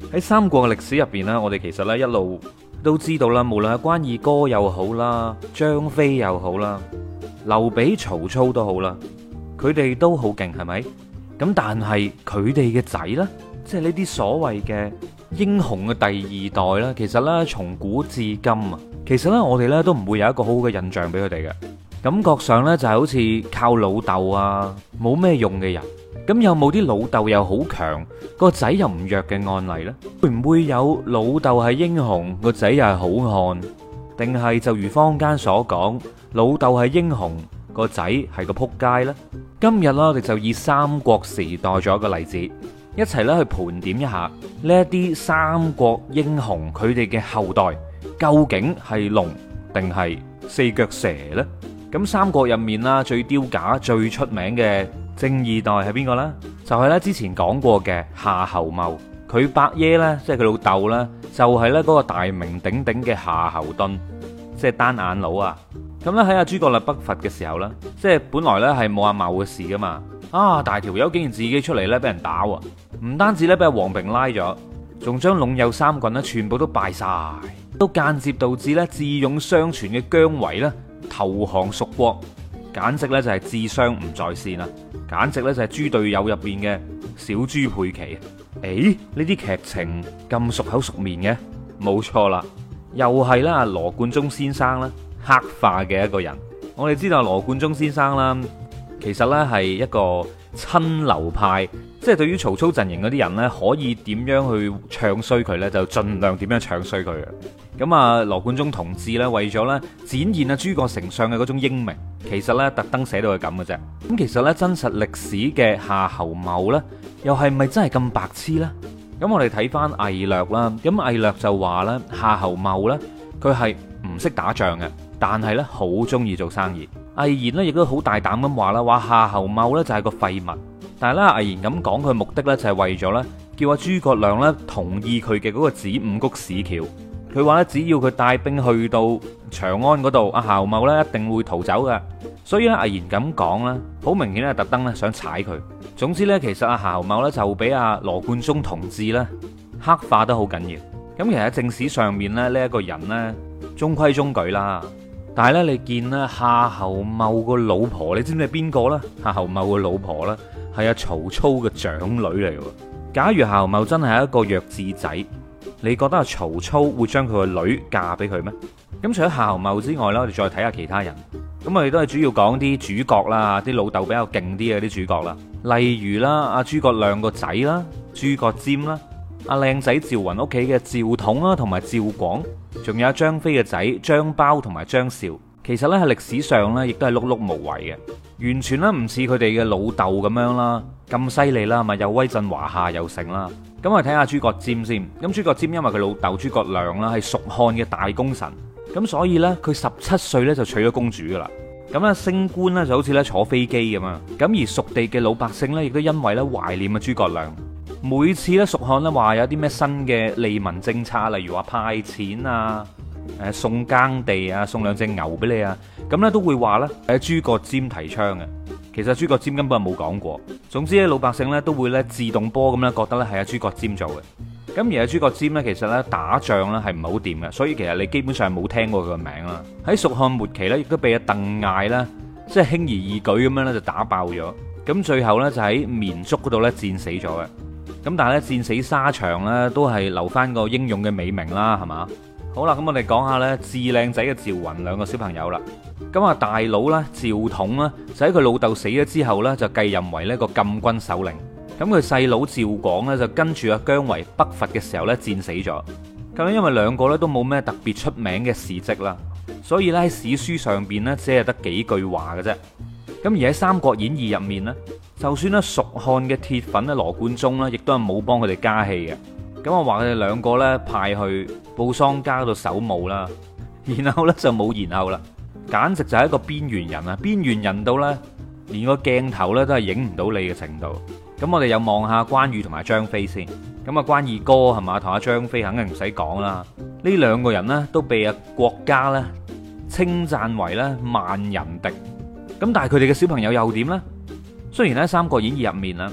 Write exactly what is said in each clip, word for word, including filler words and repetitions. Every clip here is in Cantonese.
喺三國嘅歷史入邊呢，我哋其實呢一路都知道啦，無論係關二哥又好啦，張飛又好啦，劉備、曹操都好啦，佢哋都好勁，係咪？咁但係佢哋嘅仔呢，即係呢啲所謂嘅英雄嘅第二代呢，其實呢，從古至今啊，其實呢，我哋呢都唔會有一個好好嘅印象俾佢哋嘅，感覺上呢，就係好似靠老豆啊，冇咩用嘅人。咁有冇啲老豆又好強，個仔又唔弱嘅案例呢？會唔會有老豆係英雄，個仔又係好漢？定係就如坊間所講，老豆係英雄，個仔係個撲街呢？今日啦，我哋就以三國時代做一個例子，一齊咧去盤點一下呢一啲三國英雄佢哋嘅後代究竟係龍定係四腳蛇呢？咁三國入面啦，最丟架、最出名嘅正二代係邊個呢？就係咧之前講過嘅夏侯茂，佢伯爺呢，即係佢老豆呢，就係咧嗰個大名鼎鼎嘅夏侯惇，即係單眼佬啊！咁咧喺阿諸葛亮北伐嘅時候呢，即係本來呢係冇阿茂嘅事噶嘛，啊大條友竟然自己出嚟呢，俾人打喎，唔單止呢，俾阿黃平拉咗，仲將隴右三郡呢全部都敗晒，都間接導致呢智勇雙全嘅姜維呢投降蜀國，簡直呢就係智商唔在線啊！簡直咧就係豬隊友入邊嘅小豬佩奇。誒，呢啲劇情咁熟口熟面嘅，冇錯啦，又係啦羅貫中先生啦黑化嘅一個人。我哋知道羅貫中先生啦，其實呢係一個親劉派，即係對於曹操陣營嗰啲人呢，可以點樣去唱衰佢呢，就盡量點樣唱衰佢嘅。咁啊，羅貫中同志呢，為咗呢展現啊諸葛丞相嘅嗰種英明，其實呢特登寫到係咁嘅啫。咁其實呢，真實歷史嘅夏侯茂呢，又係咪真係咁白痴呢？咁我哋睇翻魏略啦，咁魏略就話呢，夏侯茂呢，佢係唔識打仗嘅，但係呢好中意做生意。魏延呢，亦都好大膽咁話啦，話夏侯茂呢就係個廢物。但係咧魏延咁講佢目的呢，就係為咗呢，叫阿諸葛亮呢同意佢嘅嗰個子午谷市橋。佢話咧，只要佢帶兵去到長安嗰度，阿夏侯茂咧一定會逃走嘅。所以咧，魏延咁講咧，好明顯咧，特登咧想踩佢。總之咧，其實阿夏侯茂咧就俾阿羅貫中同志咧黑化得好緊要。咁其實喺正史上面咧，呢一個人咧中規中矩啦。但係咧，你見咧夏侯茂個老婆，你知唔知係邊個咧？夏侯茂個老婆咧係阿曹操嘅長女嚟嘅。假如夏侯茂真係一個弱智仔，你覺得阿曹操會將佢個女嫁俾佢咩？咁除咗夏侯茂之外啦，我哋再睇下其他人。咁我哋都係主要講啲主角啦，啲老豆比較勁啲嘅啲主角啦。例如啦，阿諸葛亮個仔啦，諸葛瞻啦，阿靚仔趙雲屋企嘅趙統啦，同埋趙廣，仲有張飛嘅仔張苞同埋張紹。其實咧喺歷史上咧，亦都係碌碌無為嘅，完全咧唔似佢哋嘅老豆咁樣啦，咁犀利啦，咪又威震華夏又成啦。咁我哋睇下諸葛瞻先。咁諸葛瞻因為佢老豆諸葛亮啦係蜀漢嘅大功臣，咁所以呢，佢十七歲咧就娶咗公主噶啦。咁咧升官咧就好似咧坐飛機咁啊。咁而蜀地嘅老百姓咧亦都因為咧懷念啊諸葛亮，每次咧蜀漢咧話有啲咩新嘅利民政策，例如話派錢啊，誒送耕地啊，送兩隻牛俾你啊，咁咧都會話咧係諸葛瞻提倡嘅。其實諸葛瞻根本冇講過。總之咧，老百姓咧都會咧自動波咁咧覺得咧係阿諸葛瞻做嘅。咁而阿諸葛瞻咧，其實咧打仗咧係唔係好掂嘅，所以其實你基本上冇聽過佢個名啦。喺蜀漢末期咧，亦都被阿鄧艾咧即係輕而易舉咁樣咧就打爆咗。咁最後咧就喺綿竹嗰度咧戰死咗嘅。咁但係咧戰死沙場咧都係留翻個英勇嘅美名啦，係嘛？好啦，咁我哋講下咧至靚仔嘅趙雲兩個小朋友啦。咁啊大佬咧趙統咧就喺佢老豆死咗之後咧就繼任為呢個禁軍首領。咁佢細佬趙廣咧就跟住阿姜維北伐嘅時候咧戰死咗。咁因為兩個咧都冇咩特別出名嘅事蹟啦，所以咧喺史書上邊咧只係得幾句話嘅啫。咁而喺《三國演義》入面咧，就算咧蜀漢嘅鐵粉咧羅貫中咧，亦都係冇幫佢哋加戲嘅。咁我話佢哋兩個咧派去布桑加度守墓啦，然後咧就冇然後啦，簡直就係一個邊緣人啊！邊緣人到咧連個鏡頭咧都係影唔到你嘅程度。咁我哋又望下關羽同埋張飛先。咁啊關二哥係嘛，同阿張飛肯定唔使講啦。呢兩個人呢，都被啊國家咧稱讚為咧萬人敵。咁但係佢哋嘅小朋友又點呢？雖然喺《三國演義》入面啊，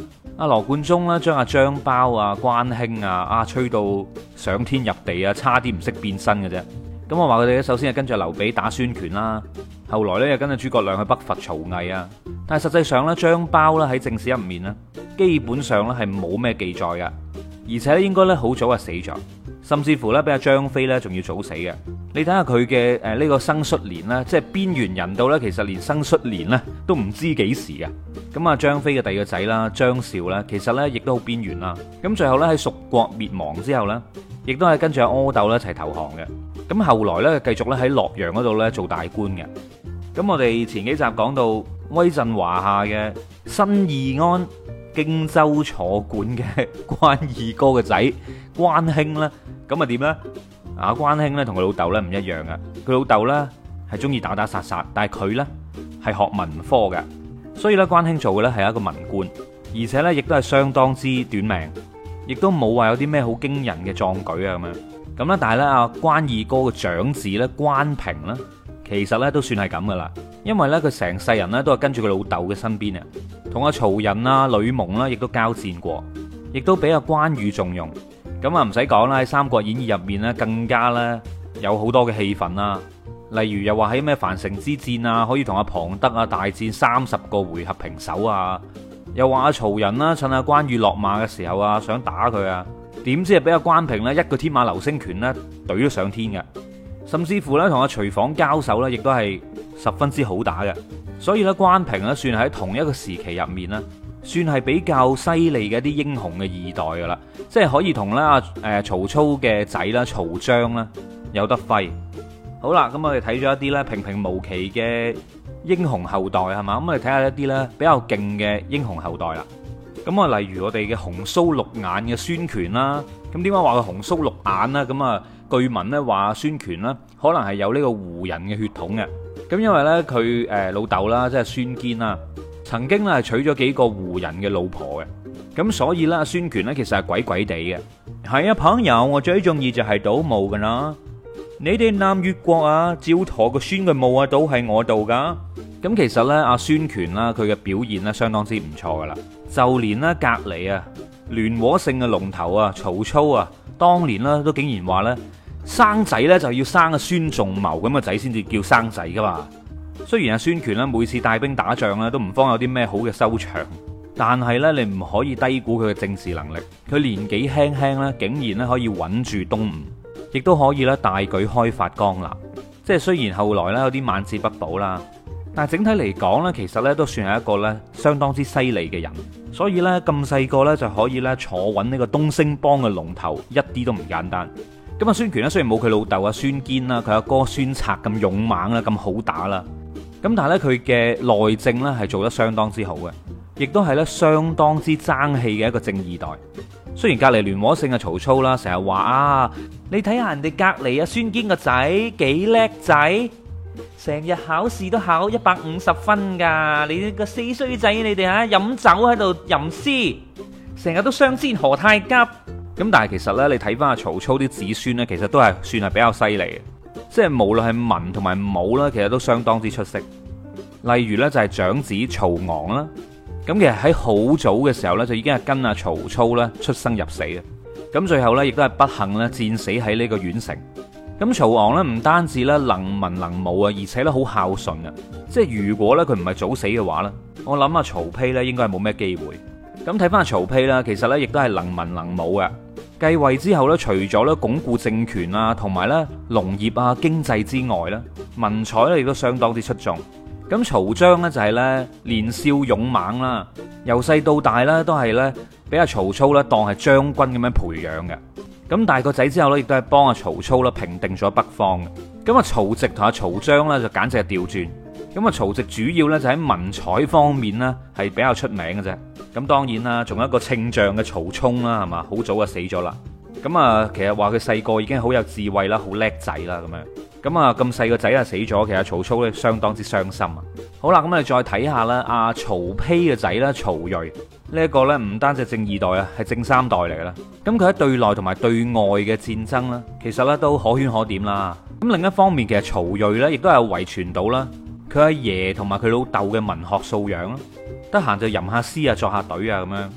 阿羅貫中啦，將阿張苞啊、關興啊啊吹到上天入地啊，差啲唔識變身嘅啫。咁我話佢哋咧，首先係跟住劉備打孫權啦，後來咧又跟住諸葛亮去北伐曹魏啊。但係實際上咧，張苞咧喺正史入面咧，基本上咧係冇咩記載嘅，而且咧應該咧好早就死咗，甚至乎咧比阿張飛咧仲要早死嘅。你睇下佢嘅誒呢個生卒年咧，即係邊緣人到咧，其實連生卒年咧都唔知幾時嘅。咁啊，張飛嘅第二個仔啦，張紹咧，其實咧亦都好邊緣啦。咁最後咧喺蜀國滅亡之後咧，亦都係跟住阿阿斗咧一齊投降嘅。咁後來咧繼續咧喺洛陽嗰度咧做大官嘅。咁我哋前幾集講到威震華夏嘅新義安荊州坐館嘅關二哥嘅仔關興咧，咁啊點咧？啊關興咧同佢老豆咧唔一樣嘅，佢老豆咧係中意打打殺殺，但係佢咧係學文科嘅，所以咧關興做嘅咧係一個文官，而且咧亦都係相當之短命，亦都冇話有啲咩好驚人嘅壯舉啊咁樣。咁咧但係咧阿關二哥嘅長子咧關平咧，其實咧都算係咁噶啦，因為咧佢成世人咧都係跟住佢老豆嘅身邊啊，同阿曹仁啊、呂蒙啦亦都交戰過，亦都俾阿關羽重用。咁啊唔使講啦，喺《三國演義》入面咧更加咧有好多嘅戲份啦，例如又話喺咩樊城之戰啊，可以同阿龐德啊大戰三十個回合平手啊，又話阿曹仁啦趁阿關羽落馬嘅時候啊想打佢啊，點知係俾阿關平咧一個天馬流星拳咧懟咗上天嘅，甚至乎咧同阿徐晃交手咧亦都係十分之好打嘅，所以咧關平咧算係喺同一個時期入面啦，算係比較犀利嘅一啲英雄嘅二代噶啦，即係可以同咧阿誒曹操嘅仔啦曹彰啦有得揮。好啦，咁我哋睇咗一啲咧平平無奇嘅英雄後代係嘛，咁我哋睇下一啲咧比較勁嘅英雄後代啦。咁啊，例如我哋嘅紅鬚綠眼嘅孫權啦，咁點解話佢紅鬚綠眼啦？咁啊，據聞咧話孫權啦，可能係有呢個胡人嘅血統嘅。咁因為咧佢誒老豆啦，即係孫堅啦，曾經咧係娶咗幾個胡人嘅老婆嘅。咁所以咧，孫權咧其實係鬼鬼地嘅。係啊，朋友，我最中意就係倒墓噶啦。你哋南越國啊，趙佗個孫嘅墓啊，都係我度噶。咁其實咧，阿孫權啦，佢嘅表現咧相當之唔錯噶啦。就連咧隔籬啊，聯和勝嘅龍頭啊，曹操啊，當年咧都竟然話咧生仔咧就要生阿孫仲謀咁嘅仔先至叫生仔噶嘛。雖然阿孫權咧每次帶兵打仗咧都唔方有啲咩好嘅收場，但係咧你唔可以低估佢嘅政治能力。佢年紀輕輕咧，竟然咧可以穩住東吳，亦都可以咧大舉開發江南。即係雖然後來咧有啲晚節不保啦，但係整體嚟講咧，其實咧都算係一個咧相當之犀利嘅人。所以咧咁細個咧就可以咧坐穩呢個東星幫嘅龍頭，一啲都唔簡單。咁啊，孫權咧雖然冇佢老豆啊孫堅啦，佢阿哥孫策咁勇猛啦，咁好打啦。咁但係咧佢嘅內政咧係做得相當之好嘅，亦都係咧相當之爭氣嘅一個正二代。雖然隔籬聯和勝嘅曹操啦，成日話啊，你睇下人哋隔籬啊孫堅個仔幾叻仔，成日考試都考一百五十分噶，你個死衰仔，你哋啊飲酒喺度吟詩，成日都相煎何太急。咁但係其實咧，你睇翻阿曹操啲子孫咧，其實都係算係比較犀利嘅，即係無論係文同埋武啦，其實都相當之出色。例如咧就係長子曹昂啦，咁其實喺好早嘅時候咧就已經係跟阿曹操咧出生入死嘅，咁最後咧亦都係不幸咧戰死喺呢個縣城。咁曹昂咧唔單止咧能文能武啊，而且咧好孝順啊，即係如果咧佢唔係早死嘅話咧，我諗阿曹丕咧應該係冇咩機會。咁睇翻阿曹丕啦，其實咧亦都係能文能武嘅。繼位之後咧，除咗咧鞏固政權啊，同埋咧農業啊、經濟之外咧，文采咧亦都相當之出眾。咁曹彰咧就係咧年少勇猛啦，由細到大咧都係咧俾阿曹操咧當係將軍咁樣培養嘅。咁大個仔之後咧，亦都係幫阿曹操啦平定咗北方嘅。咁啊曹植同阿曹彰咧就簡直係調轉。咁啊曹植主要咧就喺文采方面咧係比較出名嘅啫。咁當然啦，仲有一個稱象嘅曹沖啦，係嘛，好早就死咗啦。咁啊，其實話佢細個已經好有智慧啦，好叻仔啦咁樣。咁啊，咁細個仔啊死咗，其實曹操咧相當之傷心啊。好啦，咁我哋再睇下啦，阿曹丕嘅仔啦，曹睿呢一個咧唔單止正二代啊，係正三代嚟噶啦。咁佢喺對內同埋對外嘅戰爭啦，其實咧都可圈可點啦。咁另一方面，其實曹睿咧亦都有遺傳到啦，佢阿爺同埋佢老豆嘅文學素養啦。得閒就吟下詩啊，作下對啊咁樣。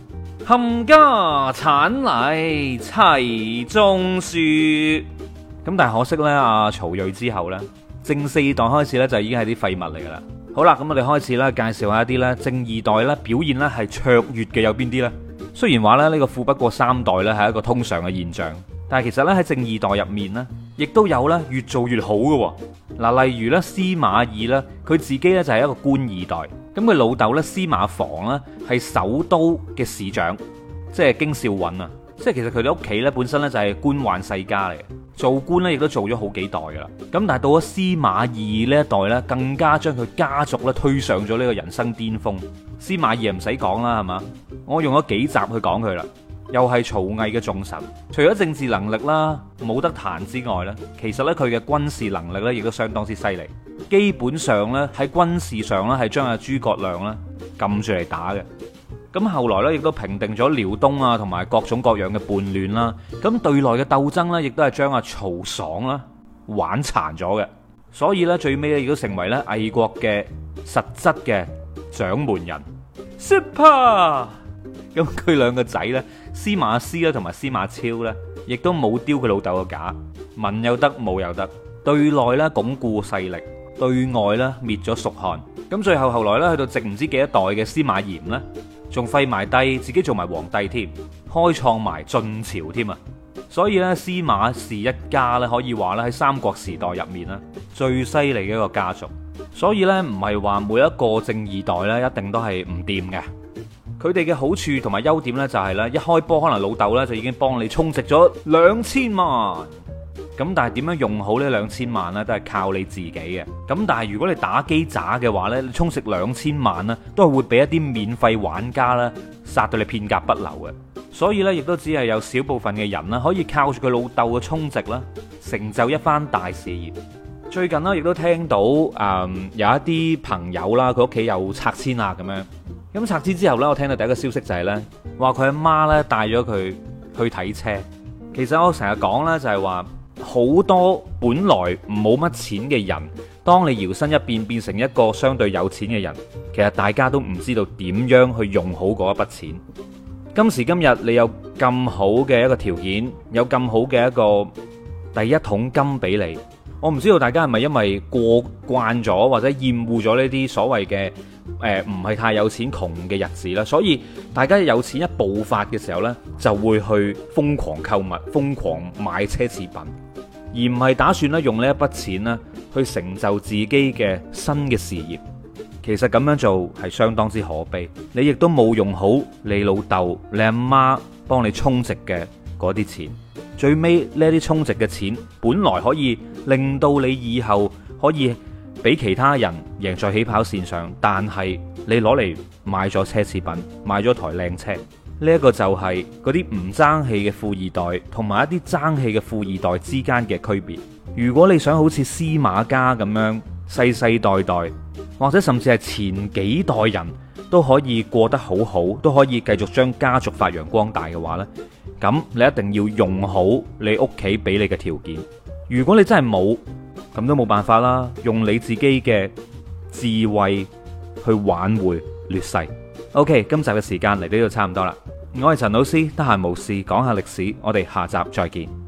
冚家產嚟齊種樹。咁但係可惜呢，阿曹睿之後呢，正四代開始呢，就已經係啲廢物嚟噶啦。好啦，咁我哋開始咧介紹下一啲咧正二代咧表現咧係卓越嘅有邊啲呢？雖然話咧呢個富不過三代咧係一個通常嘅現象，但係其實咧喺正二代入面呢，亦都有咧越做越好嘅。嗱，例如咧司馬懿咧，佢自己咧就係一個官二代，咁佢老豆咧司馬防咧係首都嘅市長，即係京兆尹啊，即係其實佢哋屋企咧本身咧就係官宦世家嚟嘅，做官咧亦都做咗好幾代噶啦。咁但係到咗司馬懿呢一代咧，更加將佢家族咧推上咗呢個人生巔峰。司馬懿唔使講啦，係嘛？我用咗幾集去講佢啦，又係曹魏嘅重臣。除咗政治能力啦冇得彈之外咧，其實咧佢嘅軍事能力咧亦都相當之犀利。基本上咧喺軍事上咧係將阿諸葛亮咧撳住嚟打嘅。咁後來咧亦都平定咗遼東啊同埋各種各樣嘅叛亂啦。咁對內嘅鬥爭咧亦都係將阿曹爽啦玩殘咗嘅。所以咧最尾咧亦都成為咧魏國嘅實質嘅掌門人。Super！ 咁佢兩個仔咧，司馬師啦同埋司馬超咧，亦都冇丟佢老豆個架，文又得武又得，對內咧鞏固勢力，對外咧滅咗蜀漢。咁最後後來咧去到直唔知幾多代嘅司馬炎咧，仲廢埋帝，自己做埋皇帝添，開創埋晉朝添啊！所以咧司馬氏一家咧可以話咧喺三國時代入面咧最犀利嘅一個家族。所以咧唔係話每一個正二代咧一定都係唔掂嘅。佢哋嘅好處同埋優點咧就係咧一開波可能老豆咧就已經幫你充值咗兩千萬。咁但係點樣用好呢兩千萬呢？都係靠你自己嘅。咁但係如果你打機渣嘅話呢，你充值兩千萬呢，都係會俾一啲免費玩家呢殺到你片甲不留嘅。所以呢，亦都只係有少部分嘅人呢，可以靠住佢老豆嘅充值啦，成就一番大事業。最近呢，亦都聽到誒、嗯、有一啲朋友啦，佢屋企有拆遷啊咁樣。咁拆遷之後呢，我聽到第一個消息就係呢：話佢阿媽呢帶咗佢去睇車。其實我成日講呢，就係話。好多本來冇乜錢嘅人，當你搖身一變變成一個相對有錢嘅人，其實大家都唔知道點樣去用好嗰一筆錢。今時今日你有咁好嘅一個條件，有咁好嘅一個第一桶金俾你，我唔知道大家係咪因為過慣咗或者厭惡咗呢啲所謂嘅誒唔係太有錢窮嘅日子啦，所以大家有錢一爆發嘅時候呢，就會去瘋狂購物、瘋狂買奢侈品，而唔係打算咧用呢一筆錢咧去成就自己嘅新嘅事業。其實咁樣做係相當之可悲，你亦都冇用好你老豆、你阿媽幫你充值嘅嗰啲錢。最尾呢啲充值嘅錢，本來可以令到你以後可以俾其他人贏在起跑線上，但係你攞嚟買咗奢侈品，買咗台靚車。呢一個就係嗰啲唔爭氣嘅富二代同埋一啲爭氣嘅富二代之間嘅區別。如果你想好似司馬家咁樣世世代代，或者甚至係前幾代人都可以過得好好，都可以繼續將家族發揚光大嘅話呢，咁你一定要用好你屋企俾你嘅條件。如果你真係冇，咁都冇辦法啦，用你自己嘅智慧去挽回劣勢。OK， 今集嘅時間嚟到呢度差唔多啦。我係陳老師，得閒無事講下歷史，我哋下集再見。